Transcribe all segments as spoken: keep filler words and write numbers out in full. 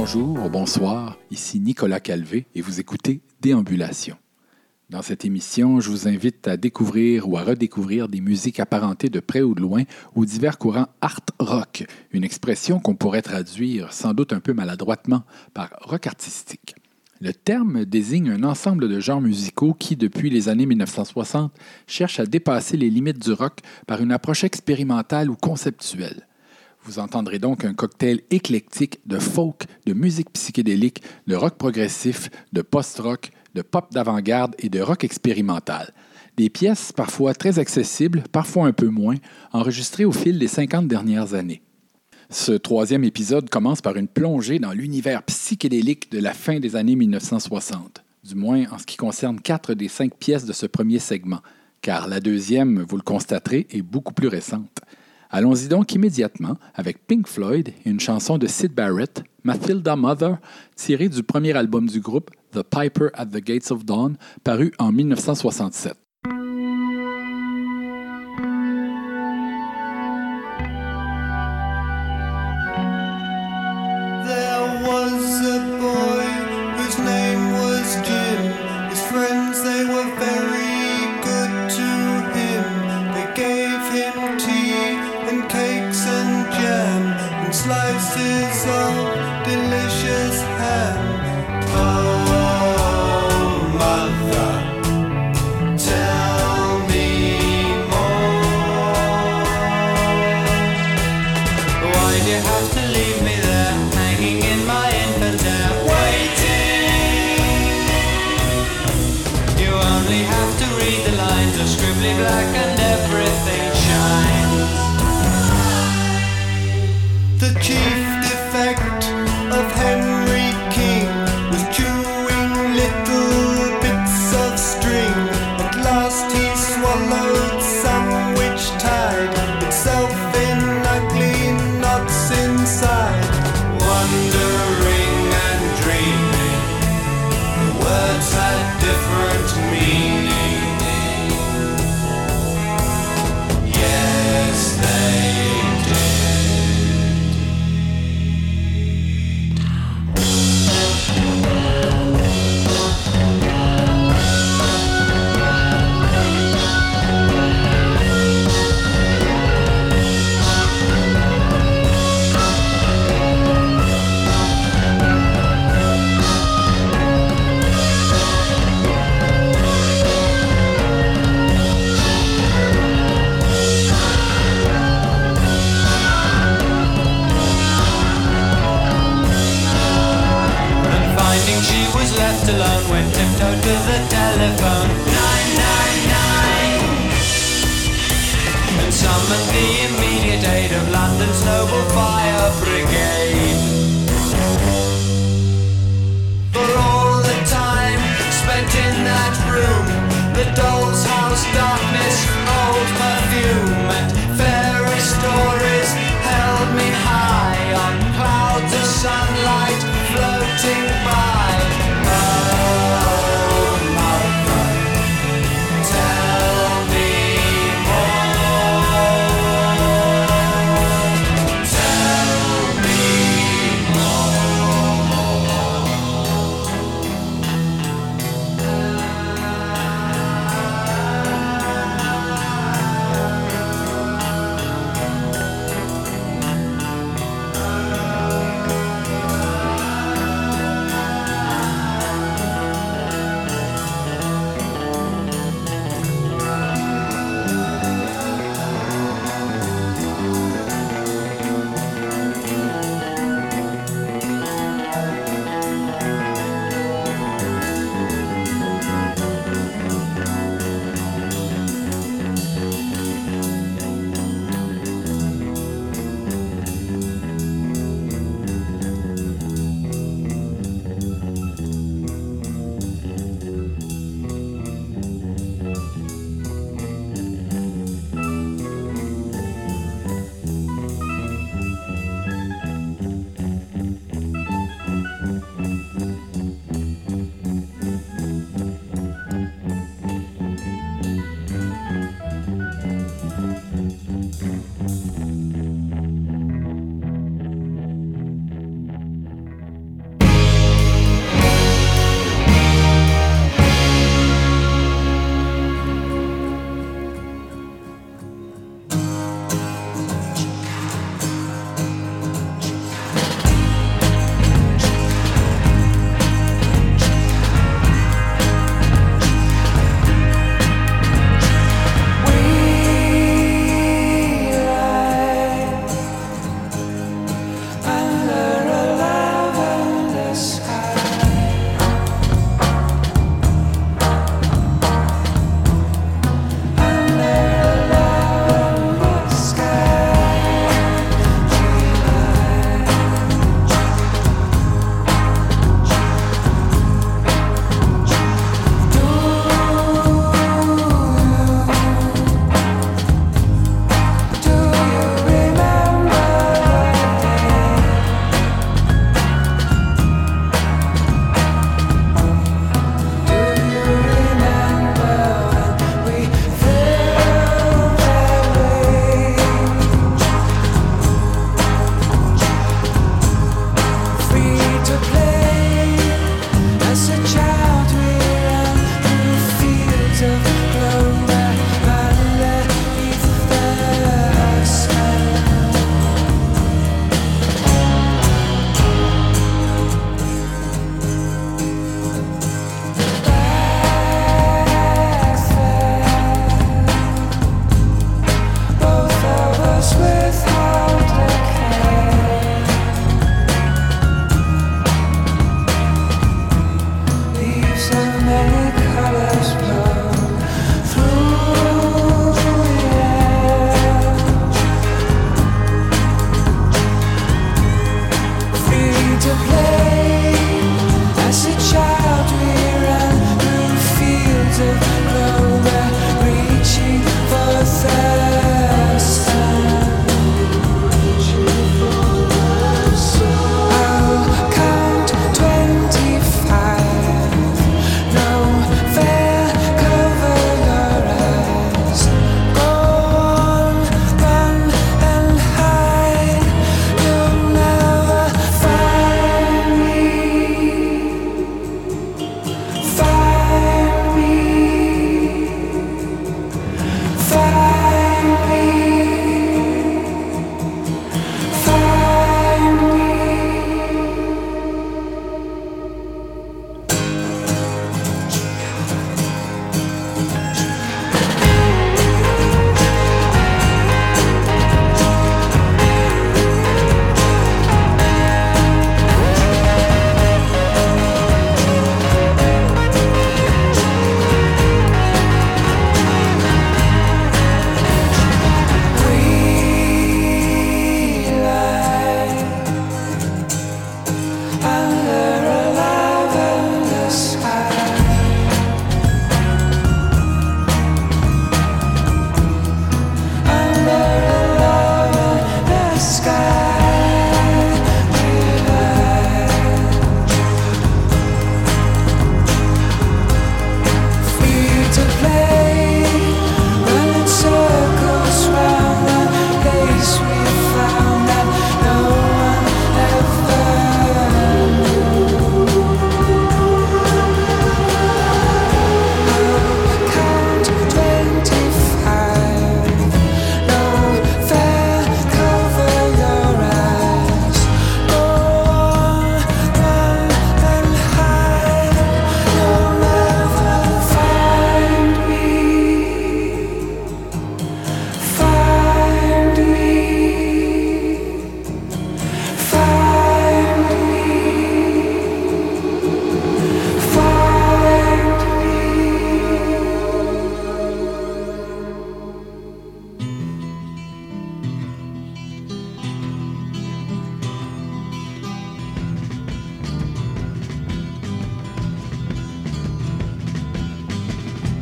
Bonjour, bonsoir, ici Nicolas Calvé et vous écoutez Déambulation. Dans cette émission, je vous invite à découvrir ou à redécouvrir des musiques apparentées de près ou de loin aux divers courants art rock, une expression qu'on pourrait traduire sans doute un peu maladroitement par rock artistique. Le terme désigne un ensemble de genres musicaux qui, depuis les années dix-neuf cent soixante, cherchent à dépasser les limites du rock par une approche expérimentale ou conceptuelle. Vous entendrez donc un cocktail éclectique de folk, de musique psychédélique, de rock progressif, de post-rock, de pop d'avant-garde et de rock expérimental. Des pièces parfois très accessibles, parfois un peu moins, enregistrées au fil des cinquante dernières années. Ce troisième épisode commence par une plongée dans l'univers psychédélique de la fin des années dix-neuf cent soixante, du moins en ce qui concerne quatre des cinq pièces de ce premier segment, car la deuxième, vous le constaterez, est beaucoup plus récente. Allons-y donc immédiatement avec Pink Floyd et une chanson de Syd Barrett, Matilda Mother, tirée du premier album du groupe, The Piper at the Gates of Dawn, paru en dix-neuf cent soixante-sept. Slices of delicious ham. Oh, mother, tell me more. Why do you have to leave me there, hanging in my infant air, waiting? You only have to read the lines of scribbly black and everything shines. The chief defect of Henry King was chewing little bits of string. At last he swallowed some which tied itself in ugly knots inside. Wondering and dreaming, the words had different meaning. Yes, they left alone, went tiptoe to the telephone, nine nine nine, and summoned the immediate aid of London's noble fire brigade. For all the time spent in that room, the doll's house darkness, old perfume, and fairy stories held me high on clouds of sunlight floating by.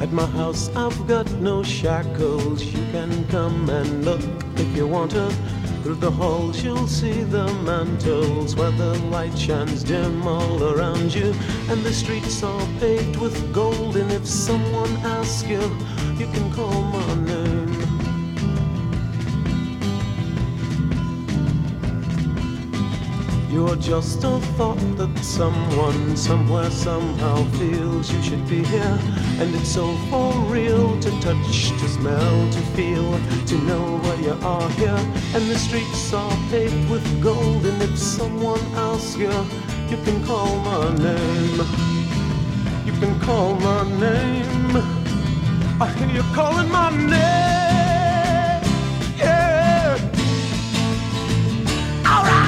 At my house I've got no shackles. You can come and look if you want to. Through the halls you'll see the mantles where the light shines dim all around you. And the streets are paved with gold. And if someone asks you, you can call my name. You're just a thought that someone, somewhere, somehow feels you should be here. And it's so for real to touch, to smell, to feel, to know where you are here. And the streets are paved with gold. And if someone asks you, you can call my name. You can call my name. I hear you calling my name. Yeah. All right.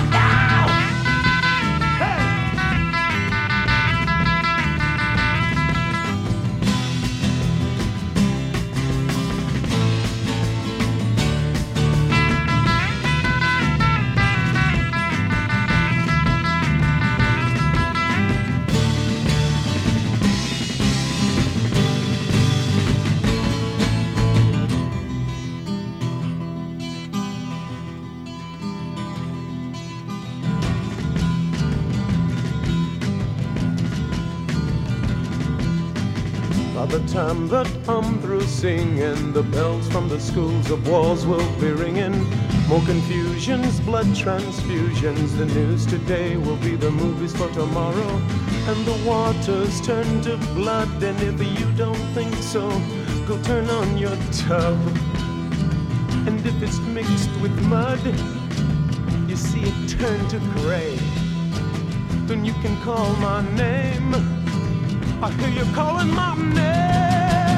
By the time that I'm through singing, the bells from the schools of wars will be ringing. More confusions, blood transfusions. The news today will be the movies for tomorrow. And the waters turn to blood. And if you don't think so, go turn on your tub. And if it's mixed with mud, you see it turn to gray. Then you can call my name. I hear you calling my name.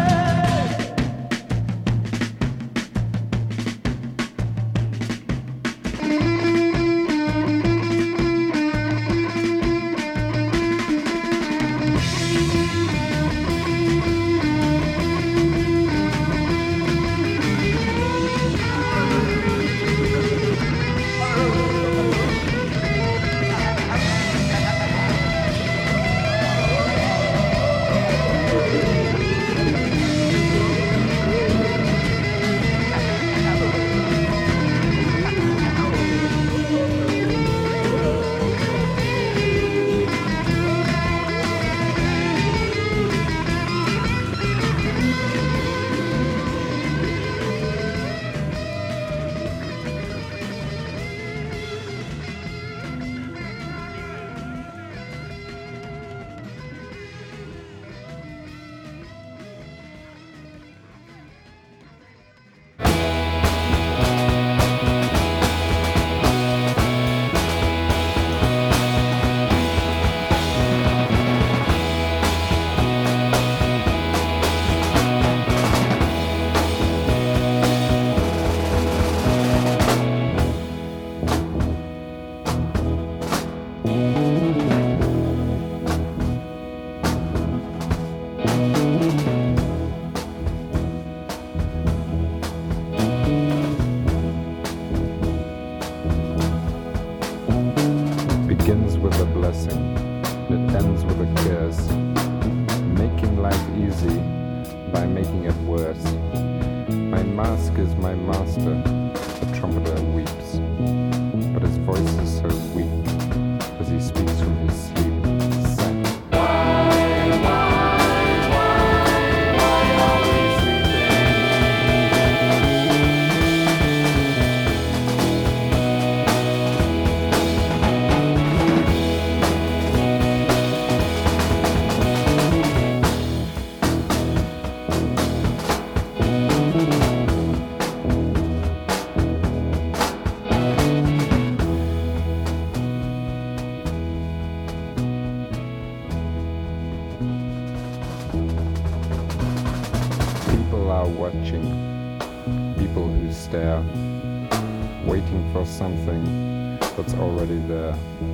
Something that's already there.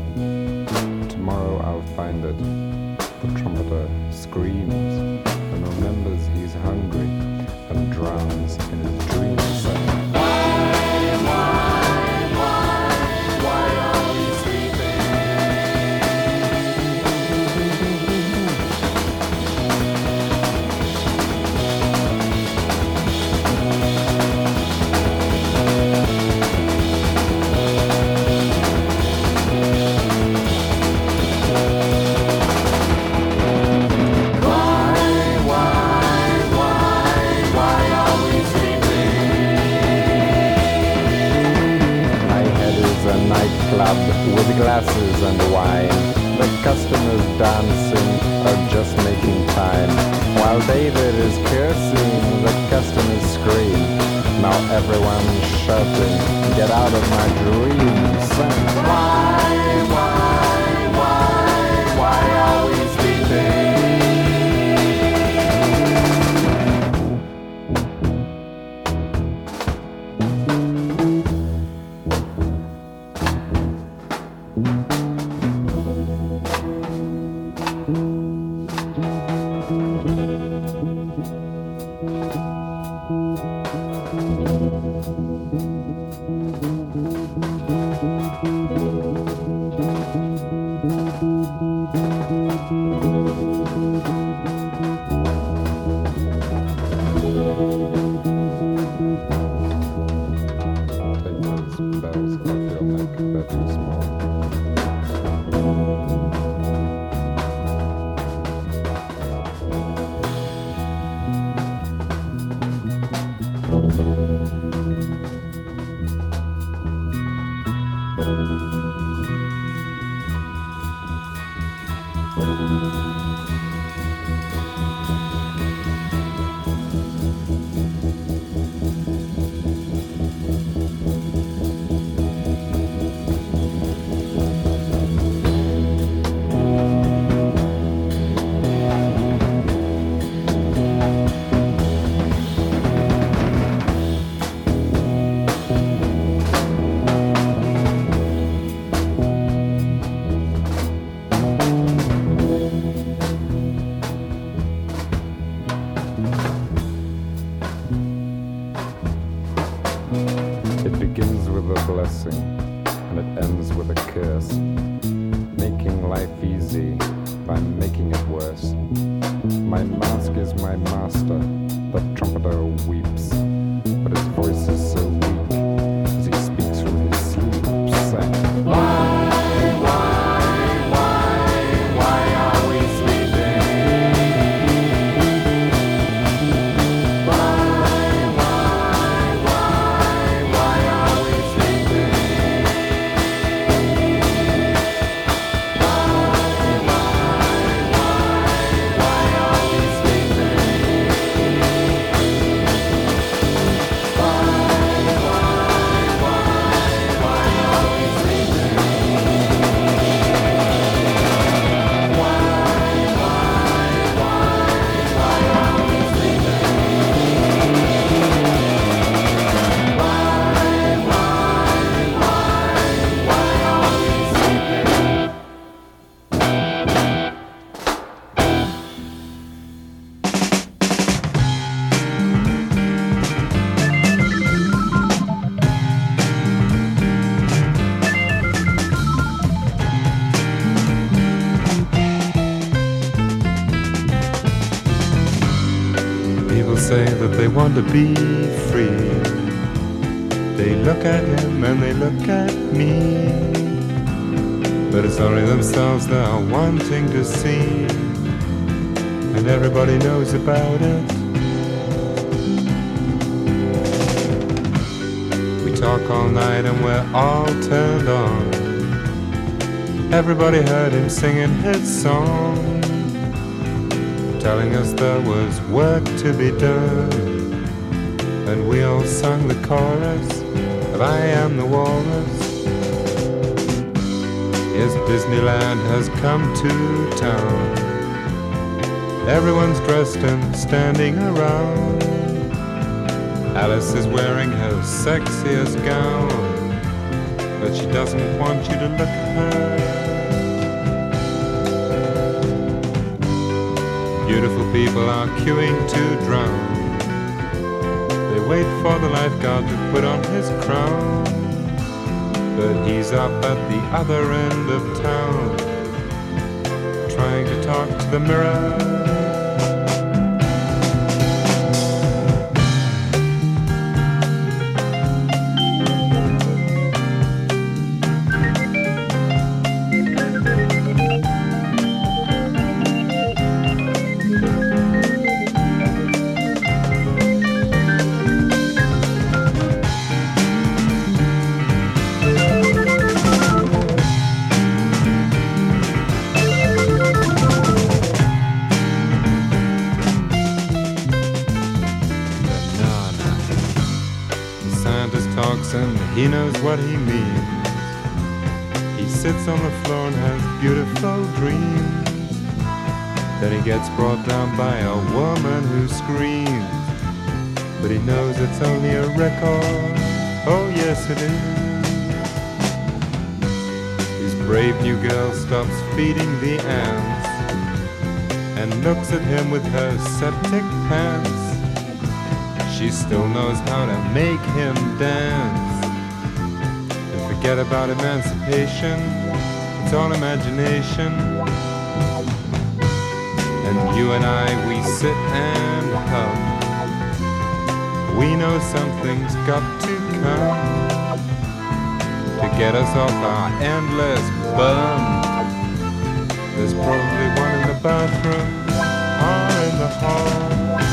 Tomorrow I'll find it. The trumpeter screams and remembers he's hungry and drowns in his dreams. Why, why, why, why are we sleeping? nightclub with glasses and wine. The customers dancing are just making time. While David is cursing, the customers scream. Now everyone's shouting, get out of my dreams. And why, why, why, why are we sleeping? Say that they want to be free. They look at him and they look at me, but it's only themselves they're wanting to see, and everybody knows about it. We talk all night and we're all turned on. Everybody heard him singing his song, telling us there was work to be done, and we all sung the chorus of I Am the Walrus. Yes, Disneyland has come to town. Everyone's dressed and standing around. Alice is wearing her sexiest gown, but she doesn't want you to look at her. Beautiful people are queuing to drown. They wait for the lifeguard to put on his crown, but he's up at the other end of town, trying to talk to the mirror. what he means. He sits on the floor and has beautiful dreams. Then he gets brought down by a woman who screams. But he knows it's only a record. Oh yes it is. His brave new girl stops feeding the ants and looks at him with her septic pants. She still knows how to make him dance. And forget about emancipation, it's all imagination. And you and I, we sit and hum. We know something's got to come to get us off our endless bum. There's probably one in the bathroom or in the hall.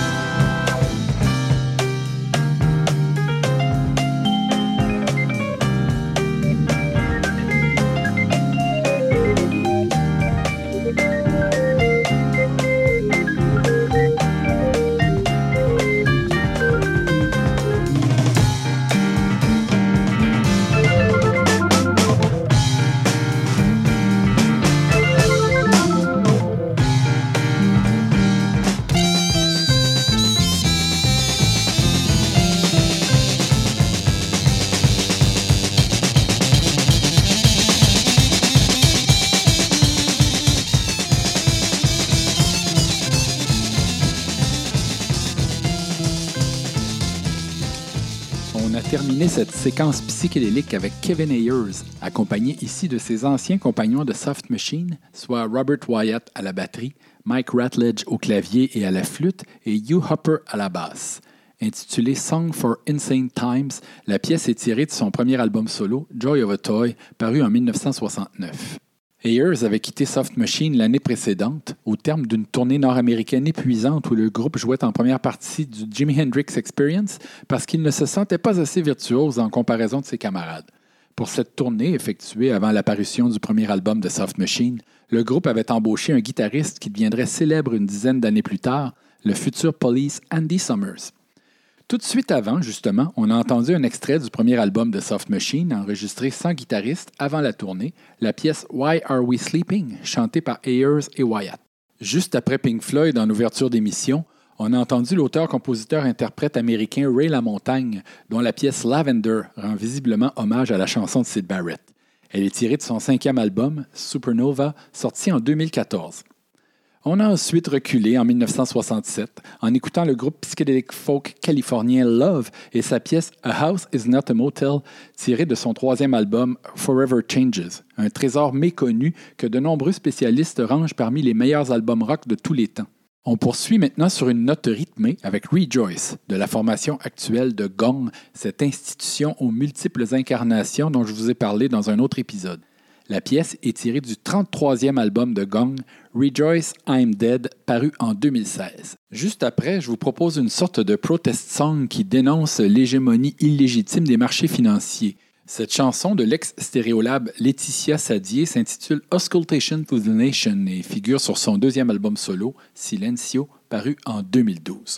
Terminer cette séquence psychédélique avec Kevin Ayers, accompagné ici de ses anciens compagnons de Soft Machine, soit Robert Wyatt à la batterie, Mike Ratledge au clavier et à la flûte et Hugh Hopper à la basse. Intitulée Song for Insane Times, la pièce est tirée de son premier album solo, Joy of a Toy, paru en dix-neuf cent soixante-neuf. Ayers avait quitté Soft Machine l'année précédente, au terme d'une tournée nord-américaine épuisante où le groupe jouait en première partie du Jimi Hendrix Experience parce qu'il ne se sentait pas assez virtuose en comparaison de ses camarades. Pour cette tournée, effectuée avant l'apparition du premier album de Soft Machine, le groupe avait embauché un guitariste qui deviendrait célèbre une dizaine d'années plus tard, le futur Police Andy Summers. Tout de suite avant, justement, on a entendu un extrait du premier album de Soft Machine, enregistré sans guitariste avant la tournée, la pièce Why Are We Sleeping, chantée par Ayers et Wyatt. Juste après Pink Floyd en ouverture d'émission, on a entendu l'auteur-compositeur-interprète américain Ray LaMontagne, dont la pièce Lavender rend visiblement hommage à la chanson de Syd Barrett. Elle est tirée de son cinquième album, Supernova, sorti en deux mille quatorze. On a ensuite reculé en dix-neuf cent soixante-sept en écoutant le groupe psychédélique folk californien Love et sa pièce A House is Not a Motel, tirée de son troisième album Forever Changes, un trésor méconnu que de nombreux spécialistes rangent parmi les meilleurs albums rock de tous les temps. On poursuit maintenant sur une note rythmée avec Rejoice, de la formation actuelle de Gong, cette institution aux multiples incarnations dont je vous ai parlé dans un autre épisode. La pièce est tirée du trente-troisième album de Gong, Rejoice, I'm Dead, paru en deux mille seize. Juste après, je vous propose une sorte de protest song qui dénonce l'hégémonie illégitime des marchés financiers. Cette chanson de l'ex-stéréolab Laetitia Sadier s'intitule Auscultation to the Nation et figure sur son deuxième album solo, Silencio, paru en deux mille douze.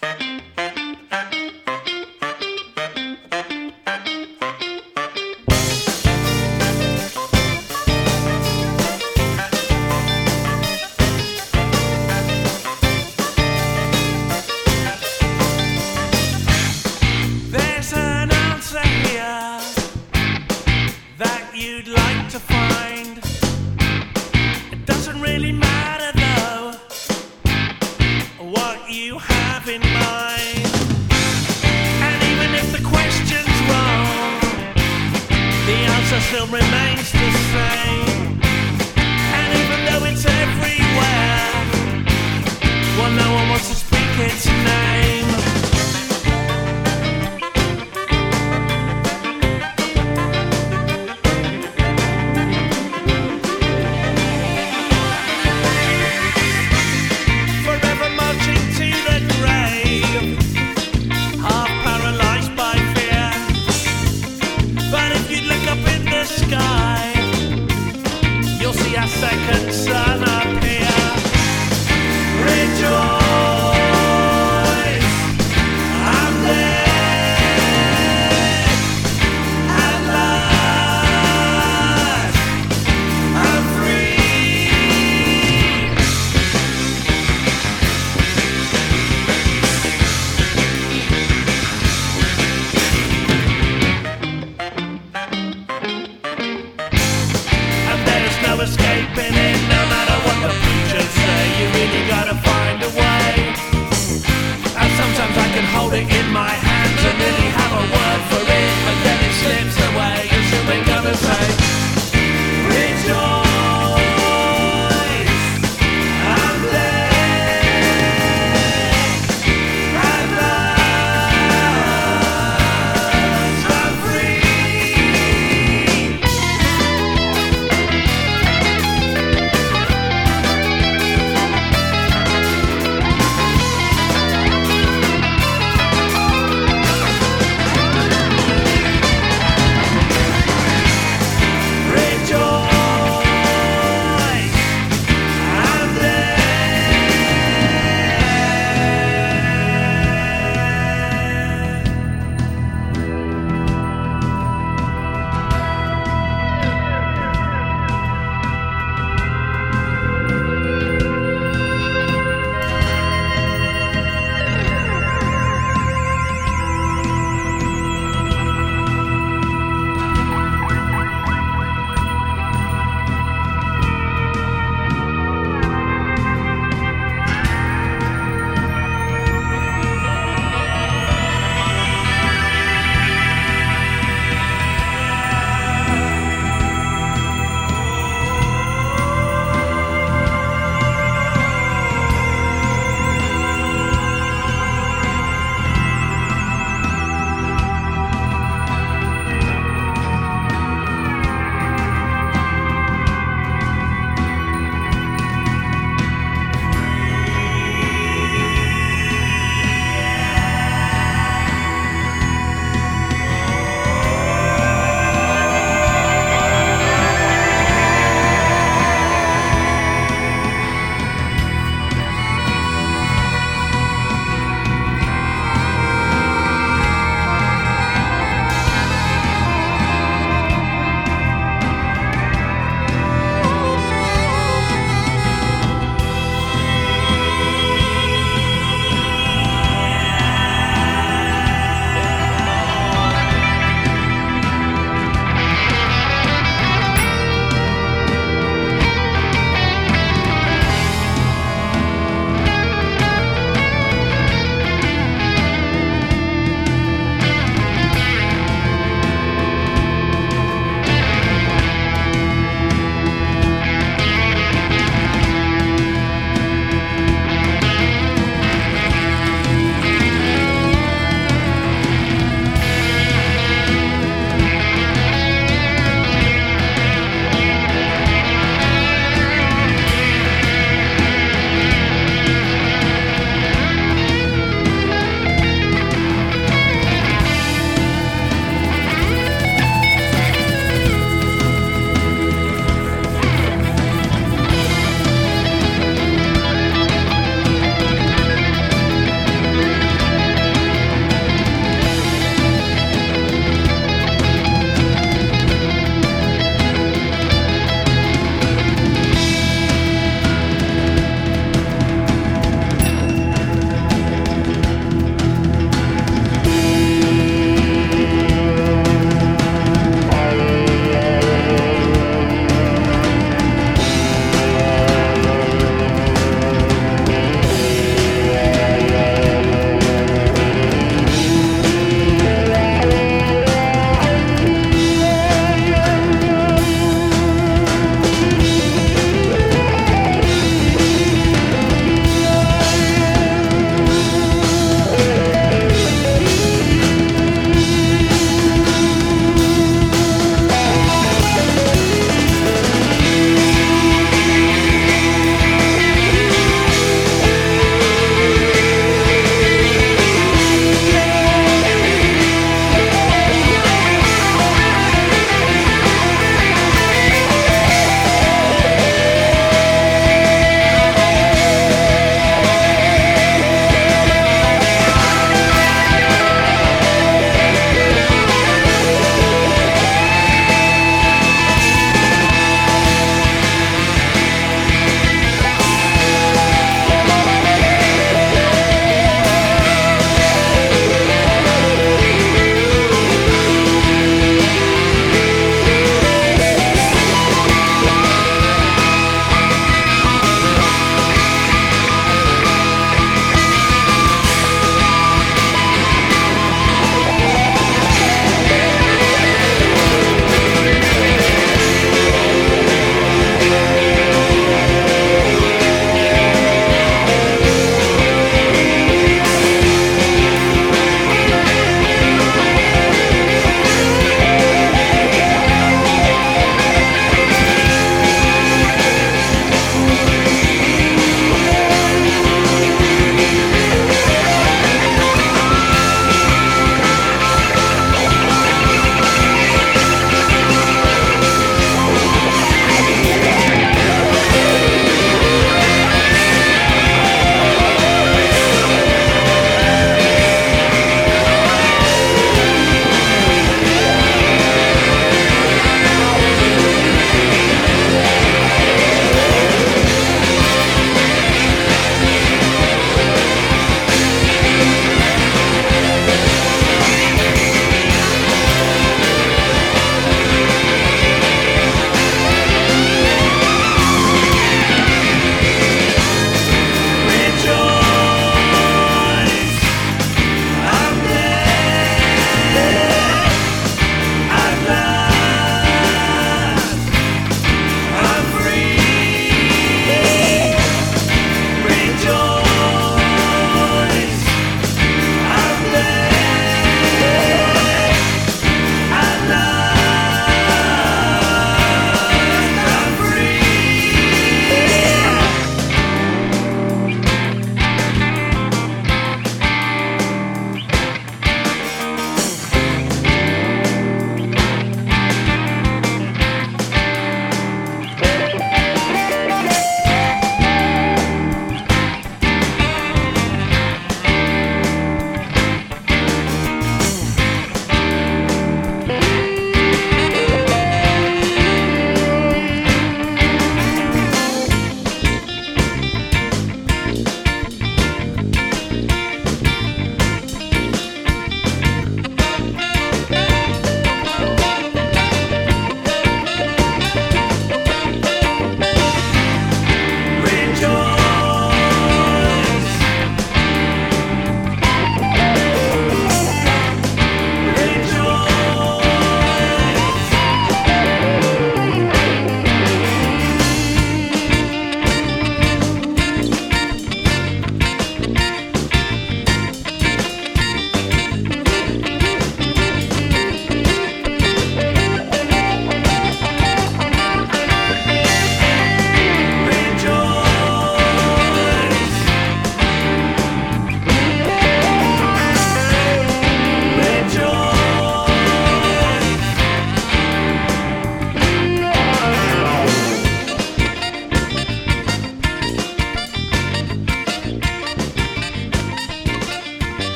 Still remains the same, and even though it's everywhere, well, no one wants to speak its name. Forever marching to the grave, half paralyzed by fear. But if you look up in the sky,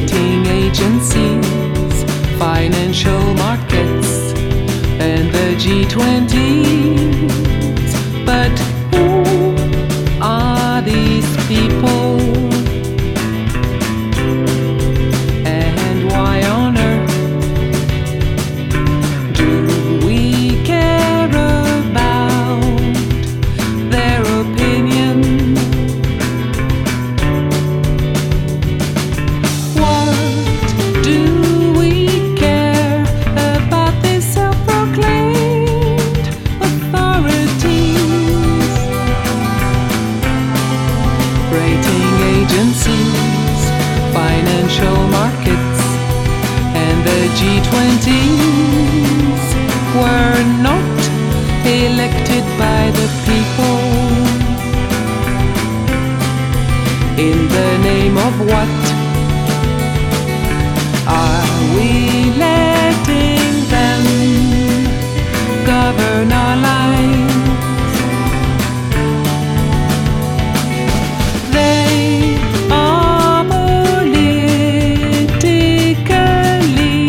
rating agencies, financial markets, and the G twenties. But who are these people? And why on earth do we care about their opinion? What do we care about these self-proclaimed authorities? Rating agencies, financial markets, and the G twenties were not elected by the people. In the name of what are we letting them govern our lives? They are politically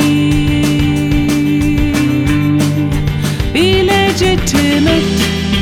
illegitimate.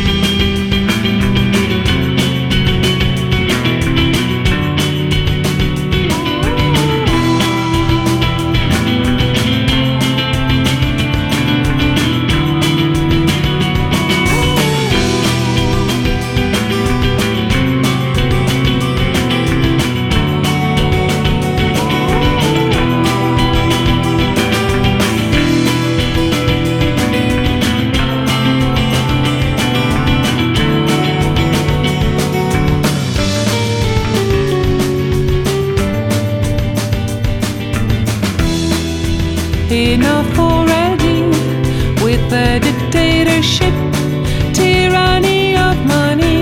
Enough already with the dictatorship, tyranny of money.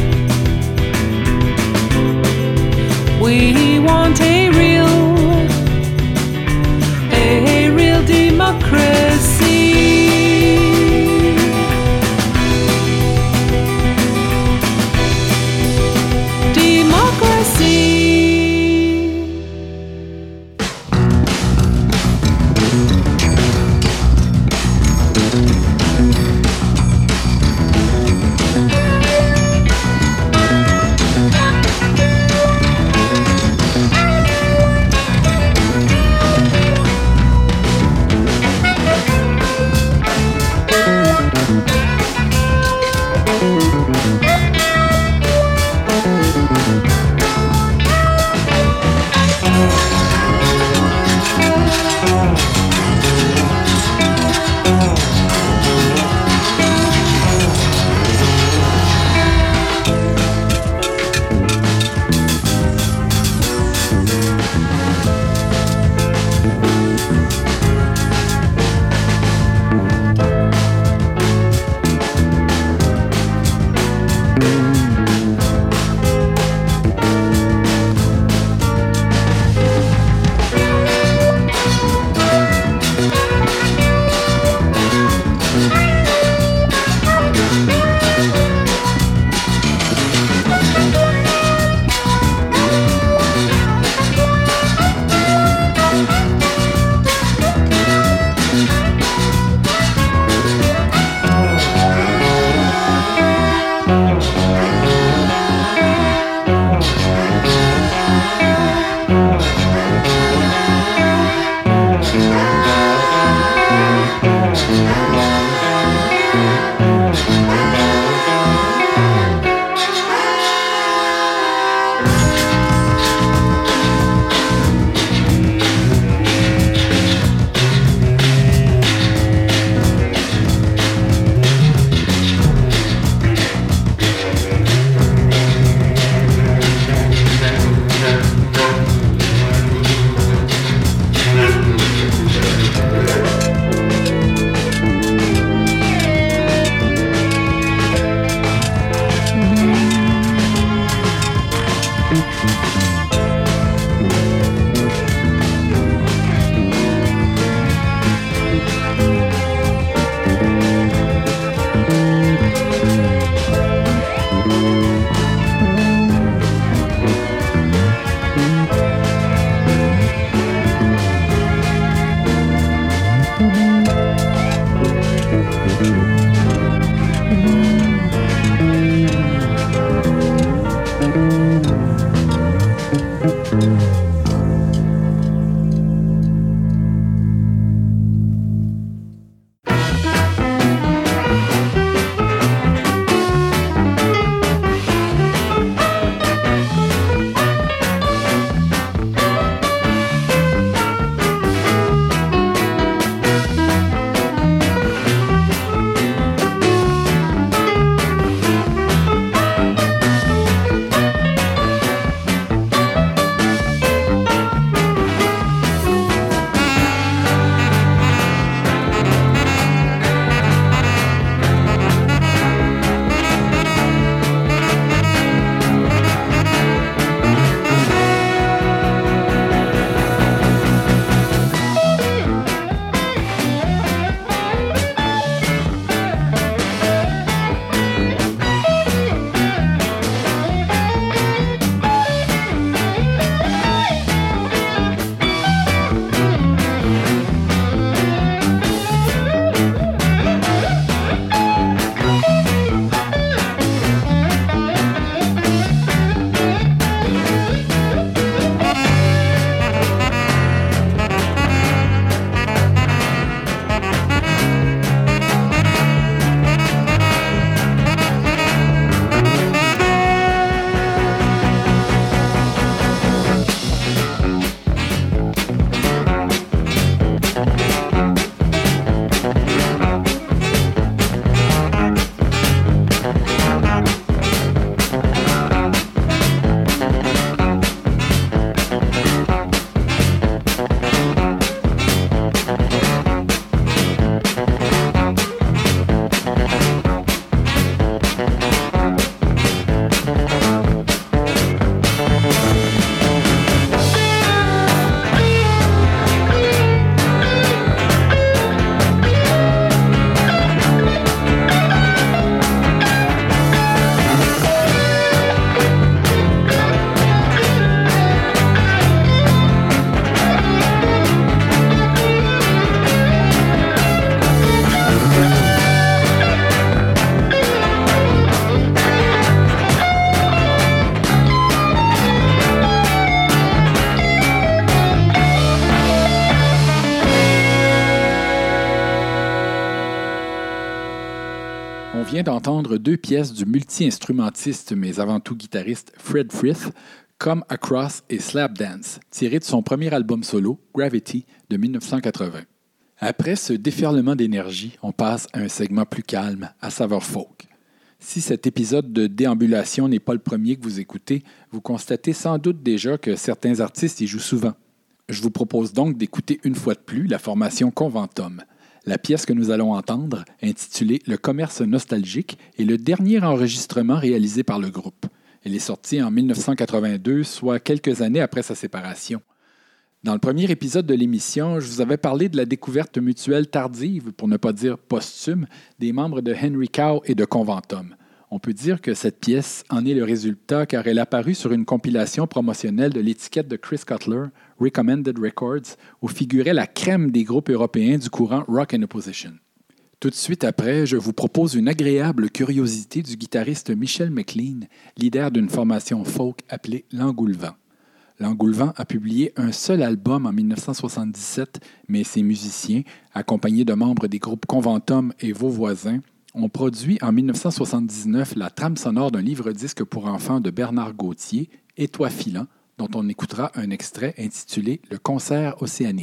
We want a real, a real democracy. Democracy. d'entendre deux pièces du multi-instrumentiste, mais avant tout guitariste Fred Frith, Come Across et Slap Dance, tirées de son premier album solo, Gravity, de dix-neuf cent quatre-vingts. Après ce déferlement d'énergie, on passe à un segment plus calme, à saveur folk. Si cet épisode de déambulation n'est pas le premier que vous écoutez, vous constatez sans doute déjà que certains artistes y jouent souvent. Je vous propose donc d'écouter une fois de plus la formation Conventum. La pièce que nous allons entendre, intitulée « Le commerce nostalgique », est le dernier enregistrement réalisé par le groupe. Elle est sortie en dix-neuf cent quatre-vingt-deux, soit quelques années après sa séparation. Dans le premier épisode de l'émission, je vous avais parlé de la découverte mutuelle tardive, pour ne pas dire posthume, des membres de Henry Cow et de Conventum. On peut dire que cette pièce en est le résultat car elle est apparue sur une compilation promotionnelle de l'étiquette de Chris Cutler, Recommended Records, où figurait la crème des groupes européens du courant Rock and Opposition. Tout de suite après, je vous propose une agréable curiosité du guitariste Michel McLean, leader d'une formation folk appelée L'Engoulevent. L'Engoulevent a publié un seul album en dix-neuf cent soixante-dix-sept, mais ses musiciens, accompagnés de membres des groupes Conventum et Vos Voisins, ont produit en dix-neuf cent soixante-dix-neuf la trame sonore d'un livre-disque pour enfants de Bernard Gauthier, Et toi filant, dont on écoutera un extrait intitulé « Le concert océanique ».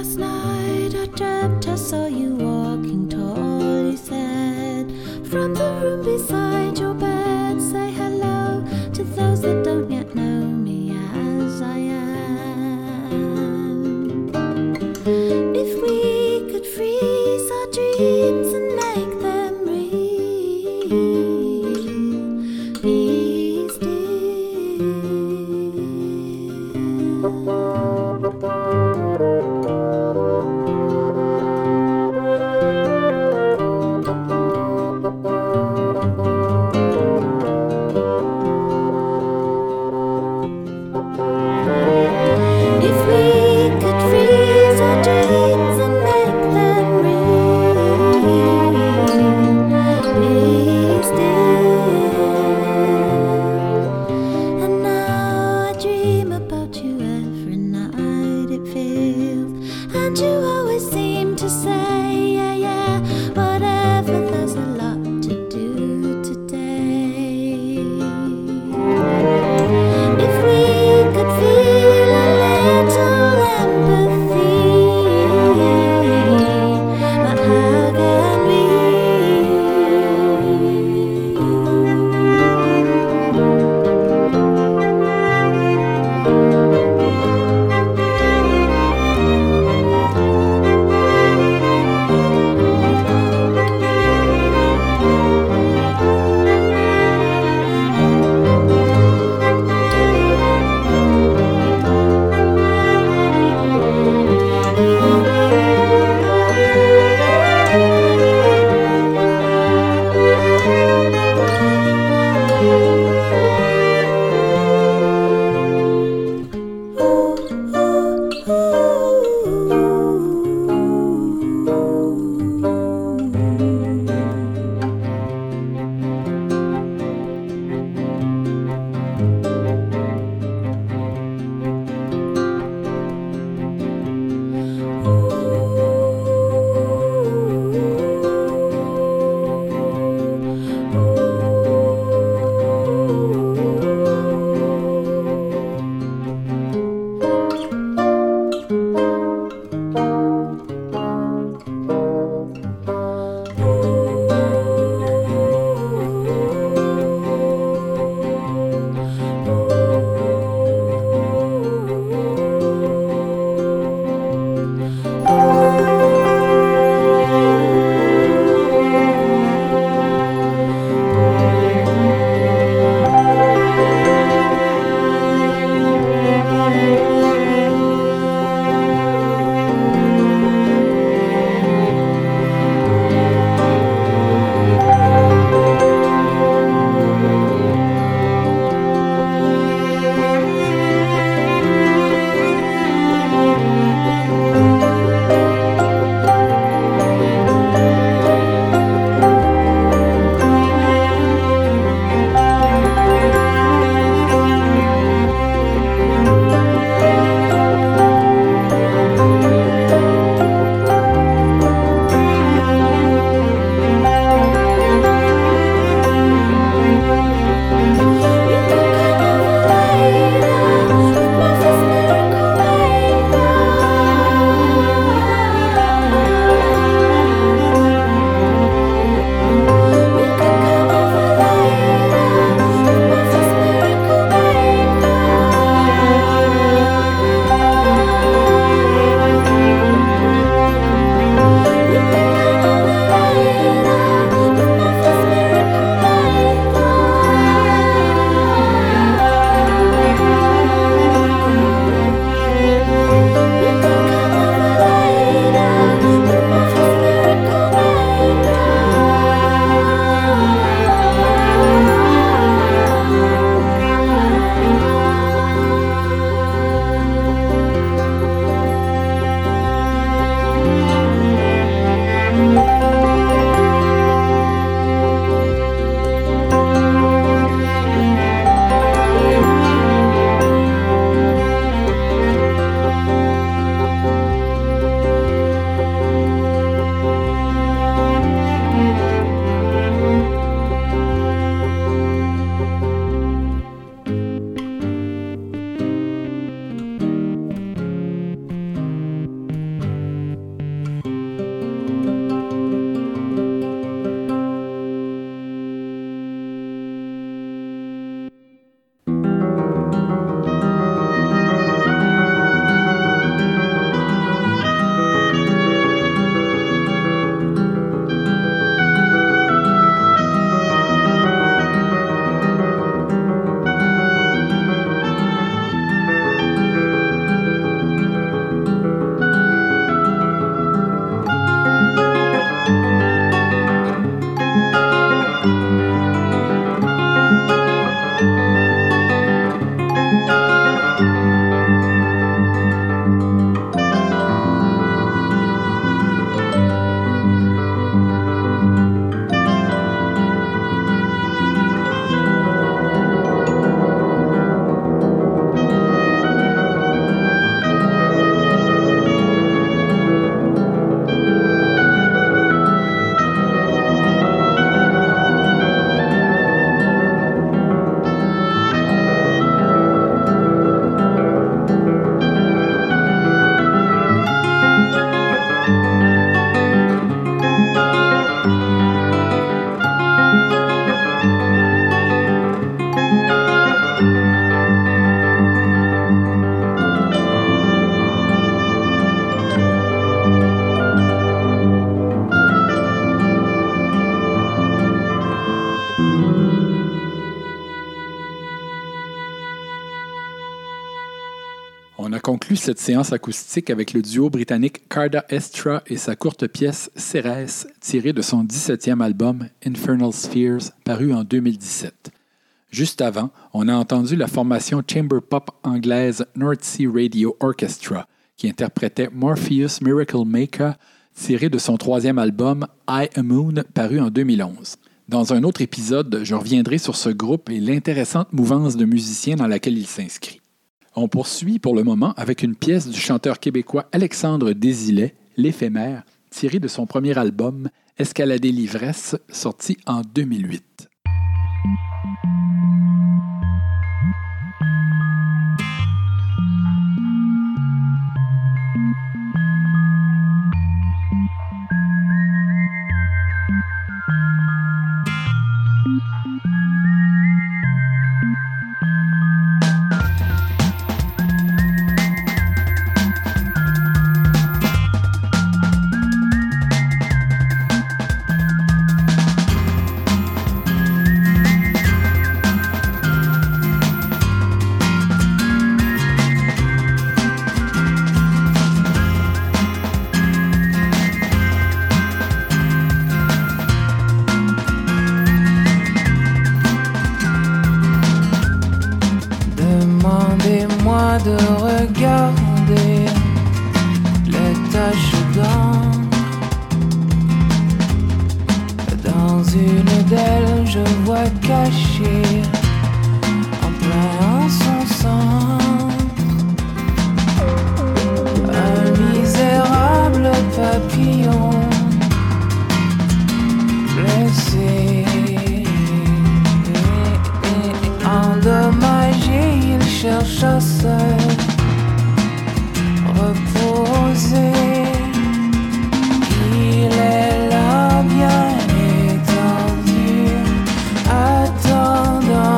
Last night I dreamt I saw you walking tall. You said from the room beside your bed, say hello to those that don't yet know me as I am. If we could freeze our dreams and make them real, be still. If we could freeze our dreams and make them real, be still. And now I dream about you every night, it feels. And you always seem to say, yeah, yeah, whatever, there's a lot to do today. If we could feel a little empathy, but how can we? conclut cette séance acoustique avec le duo britannique Carda Estra et sa courte pièce Cérès, tirée de son dix-septième album Infernal Spheres, paru en deux mille dix-sept. Juste avant, on a entendu la formation chamber pop anglaise North Sea Radio Orchestra, qui interprétait Morpheus Miracle Maker, tiré de son troisième album I A Moon, paru en deux mille onze. Dans un autre épisode, je reviendrai sur ce groupe et l'intéressante mouvance de musiciens dans laquelle il s'inscrit. On poursuit pour le moment avec une pièce du chanteur québécois Alexandre Désilet, L'éphémère, tirée de son premier album Escalader l'ivresse, sorti en deux mille huit. Demandez-moi de regarder les taches d'encre. Dans une d'elles, je vois caché en plein son centre un misérable papillon blessé, endommagé. Il cherche à se reposer. Il est là bien étendu, attendant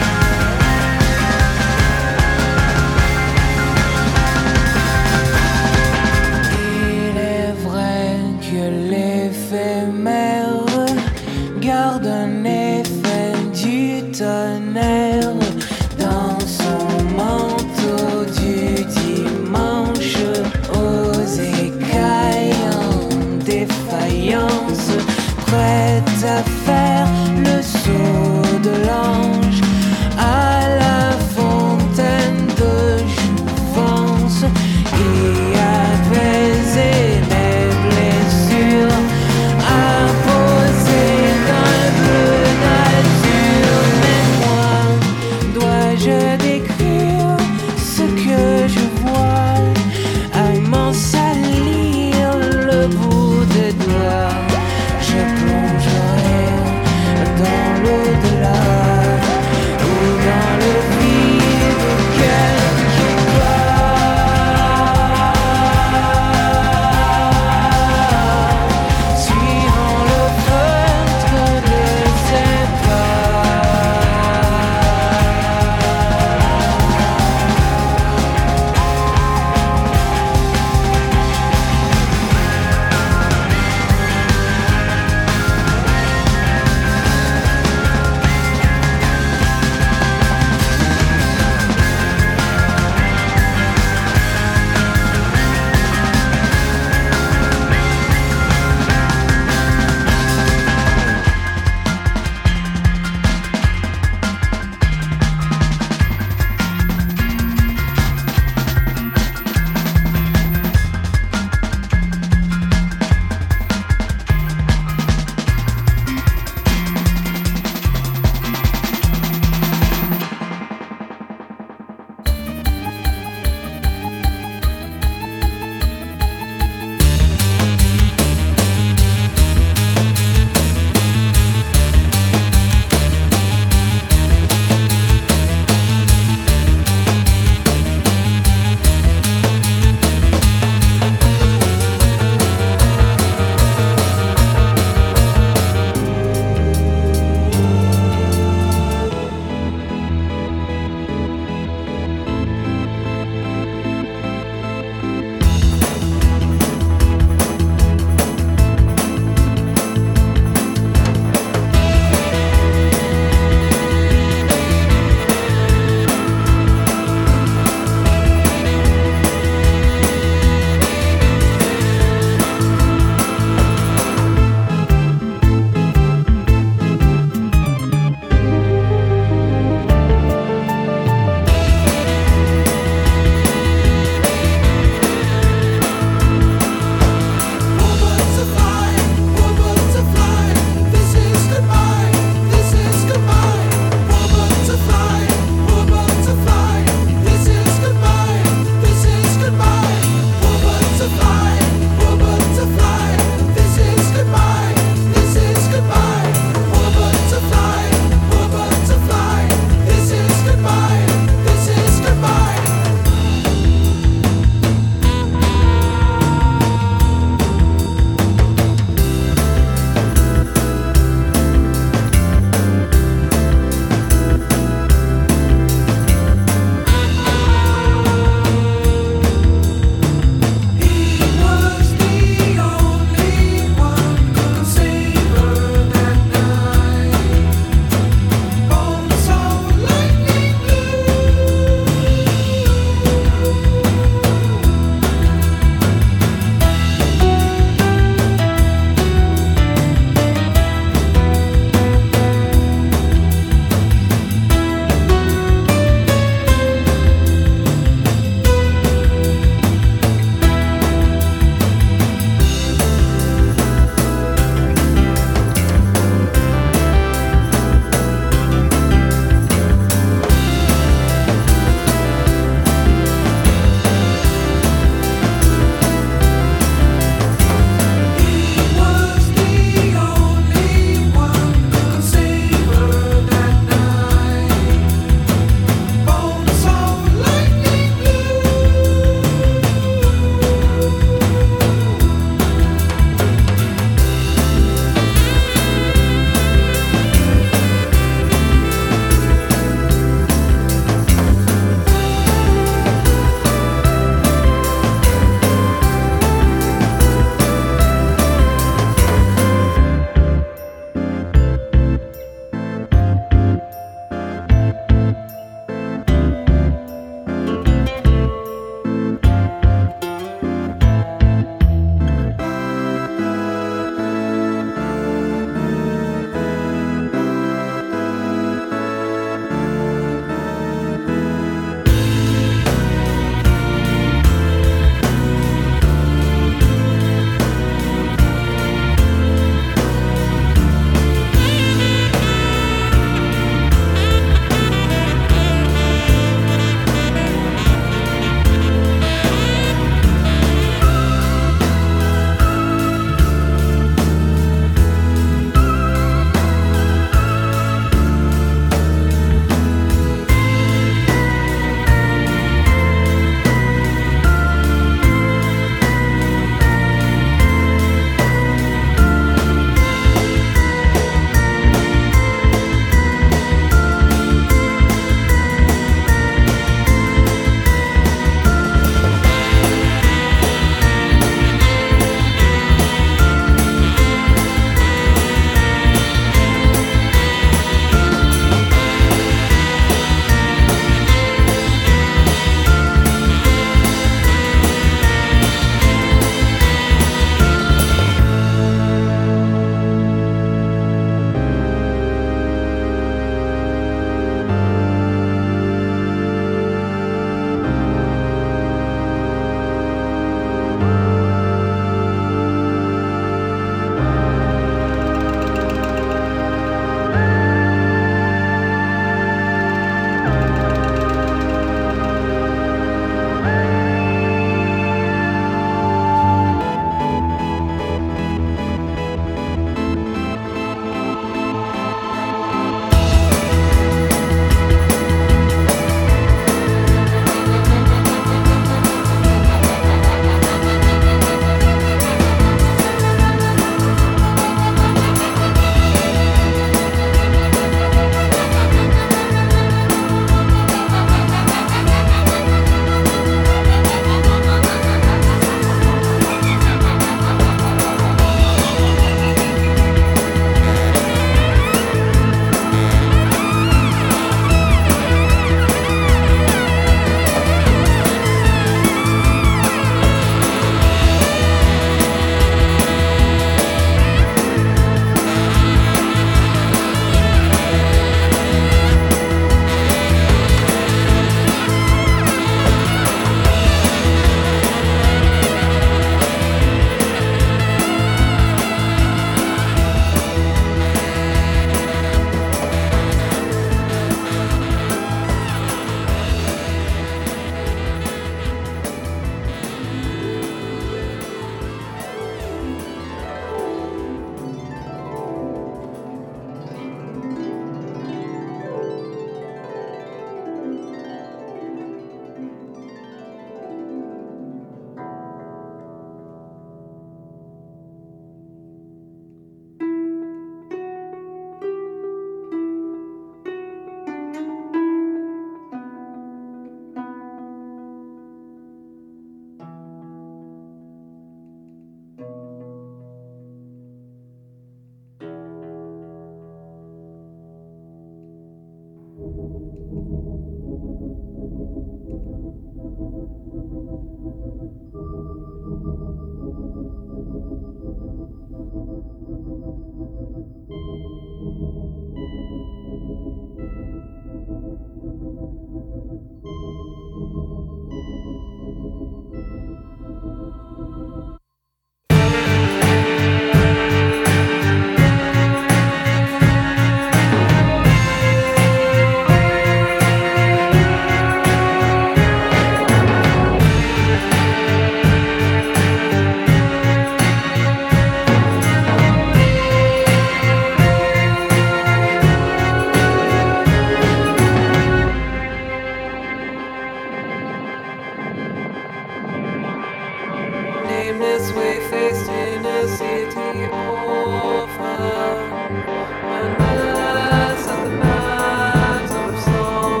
Nameless way faced in a city orphan, unless at the mouths of song.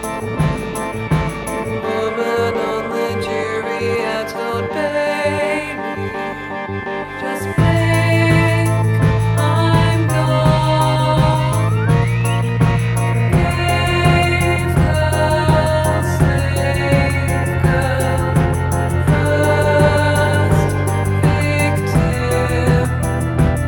Woman on the jury, I told baby, just blink, I'm gone. Gave the slave girl first victim.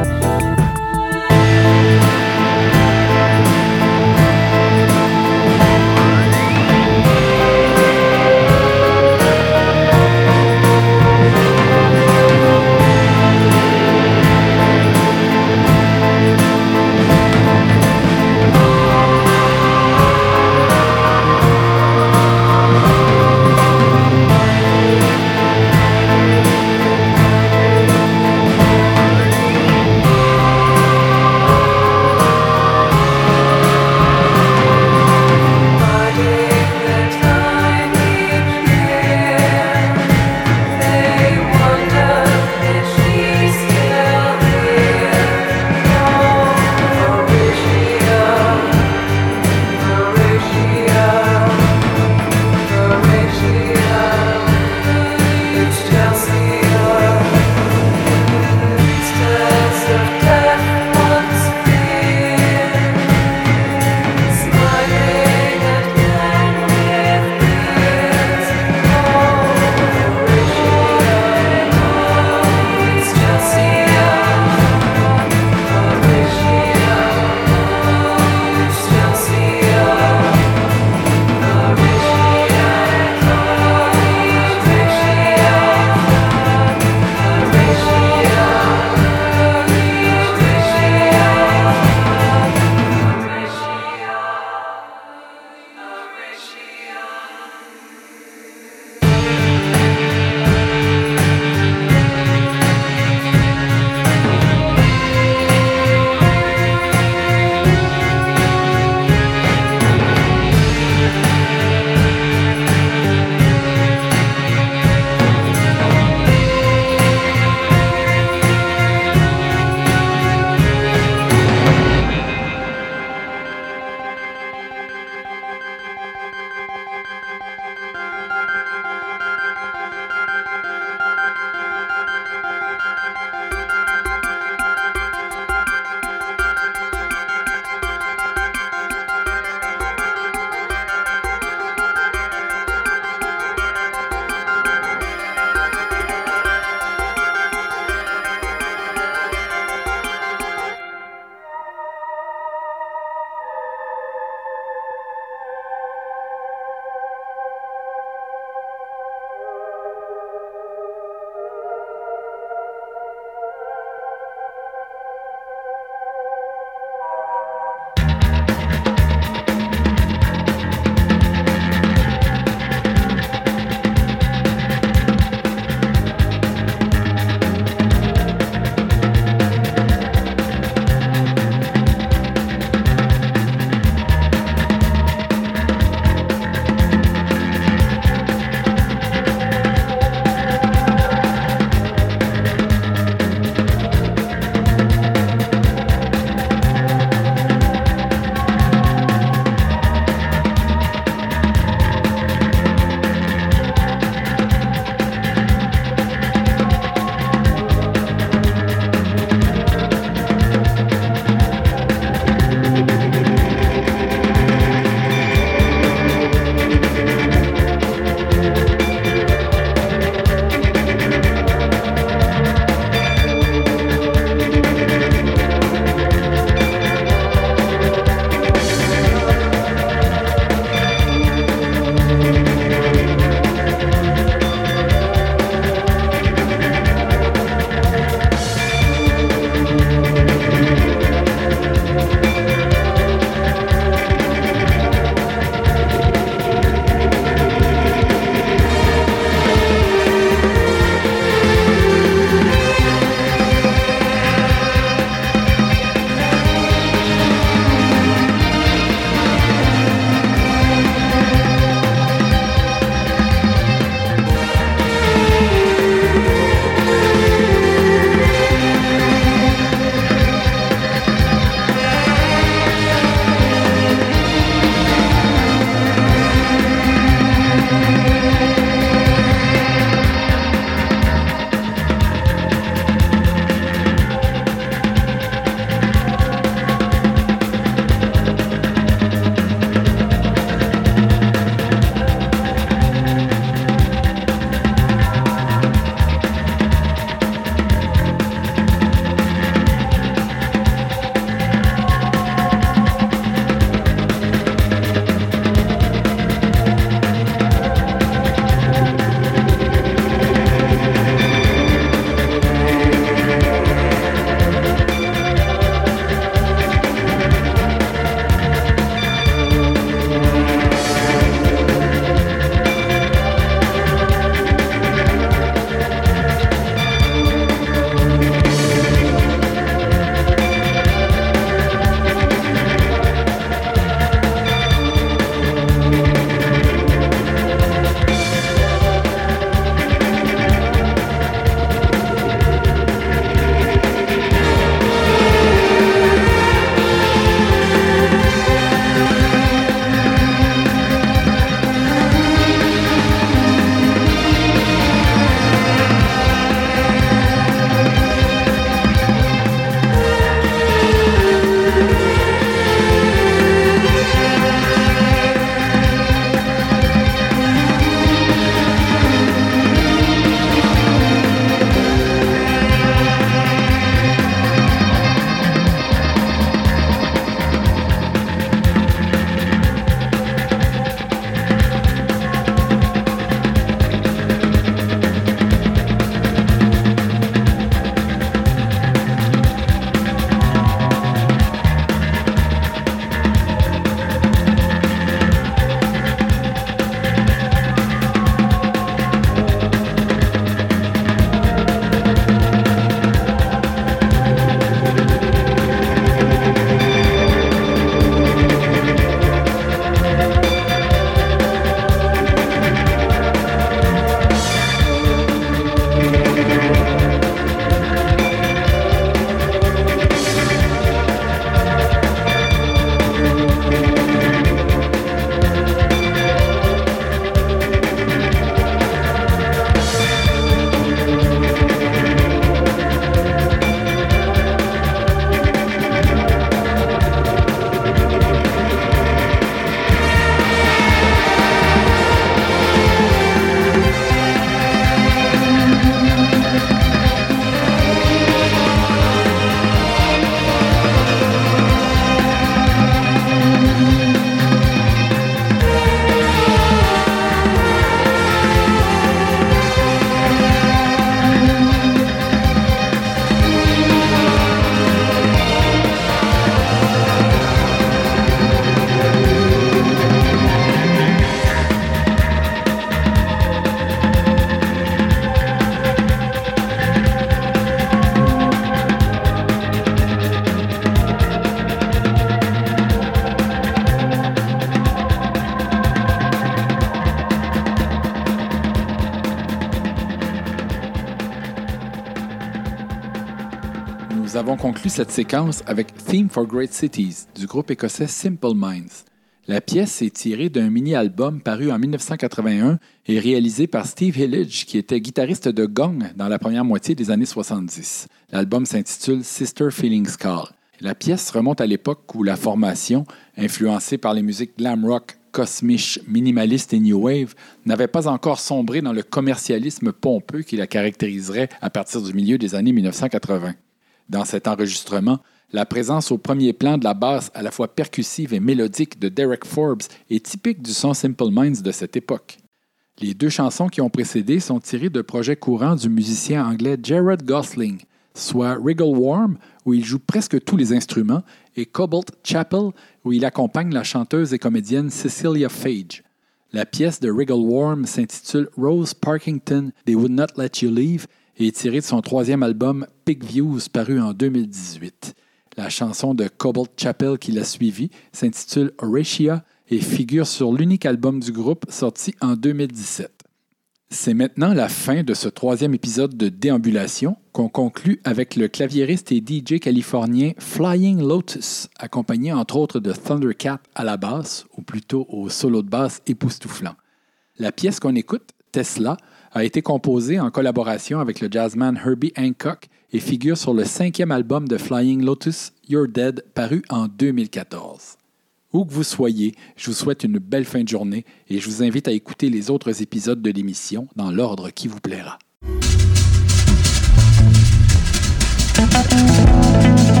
avons conclu cette séquence avec Theme for Great Cities du groupe écossais Simple Minds. La pièce est tirée d'un mini-album paru en dix-neuf cent quatre-vingt-un et réalisé par Steve Hillage, qui était guitariste de Gong dans la première moitié des années soixante-dix. L'album s'intitule Sister Feelings Call. La pièce remonte à l'époque où la formation, influencée par les musiques glam rock, cosmiche, minimaliste et new wave, n'avait pas encore sombré dans le commercialisme pompeux qui la caractériserait à partir du milieu des années dix-neuf cent quatre-vingts. Dans cet enregistrement, la présence au premier plan de la basse à la fois percussive et mélodique de Derek Forbes est typique du son Simple Minds de cette époque. Les deux chansons qui ont précédé sont tirées de projets courants du musicien anglais Jared Gosling, soit Wriggle Worm, où il joue presque tous les instruments, et Cobalt Chapel, où il accompagne la chanteuse et comédienne Cecilia Phage. La pièce de Wriggle Worm s'intitule Rose Parkington, They Would Not Let You Leave et est tirée de son troisième album Pig Views, paru en deux mille dix-huit. La chanson de Cobalt Chapel qui l'a suivie s'intitule Horatia et figure sur l'unique album du groupe sorti en deux mille dix-sept. C'est maintenant la fin de ce troisième épisode de Déambulation qu'on conclut avec le claviériste et D J californien Flying Lotus, accompagné entre autres de Thundercat à la basse, ou plutôt au solo de basse époustouflant. La pièce qu'on écoute, Tesla, a été composée en collaboration avec le jazzman Herbie Hancock et figure sur le cinquième album de Flying Lotus, You're Dead, paru en deux mille quatorze. Où que vous soyez, je vous souhaite une belle fin de journée et je vous invite à écouter les autres épisodes de l'émission dans l'ordre qui vous plaira.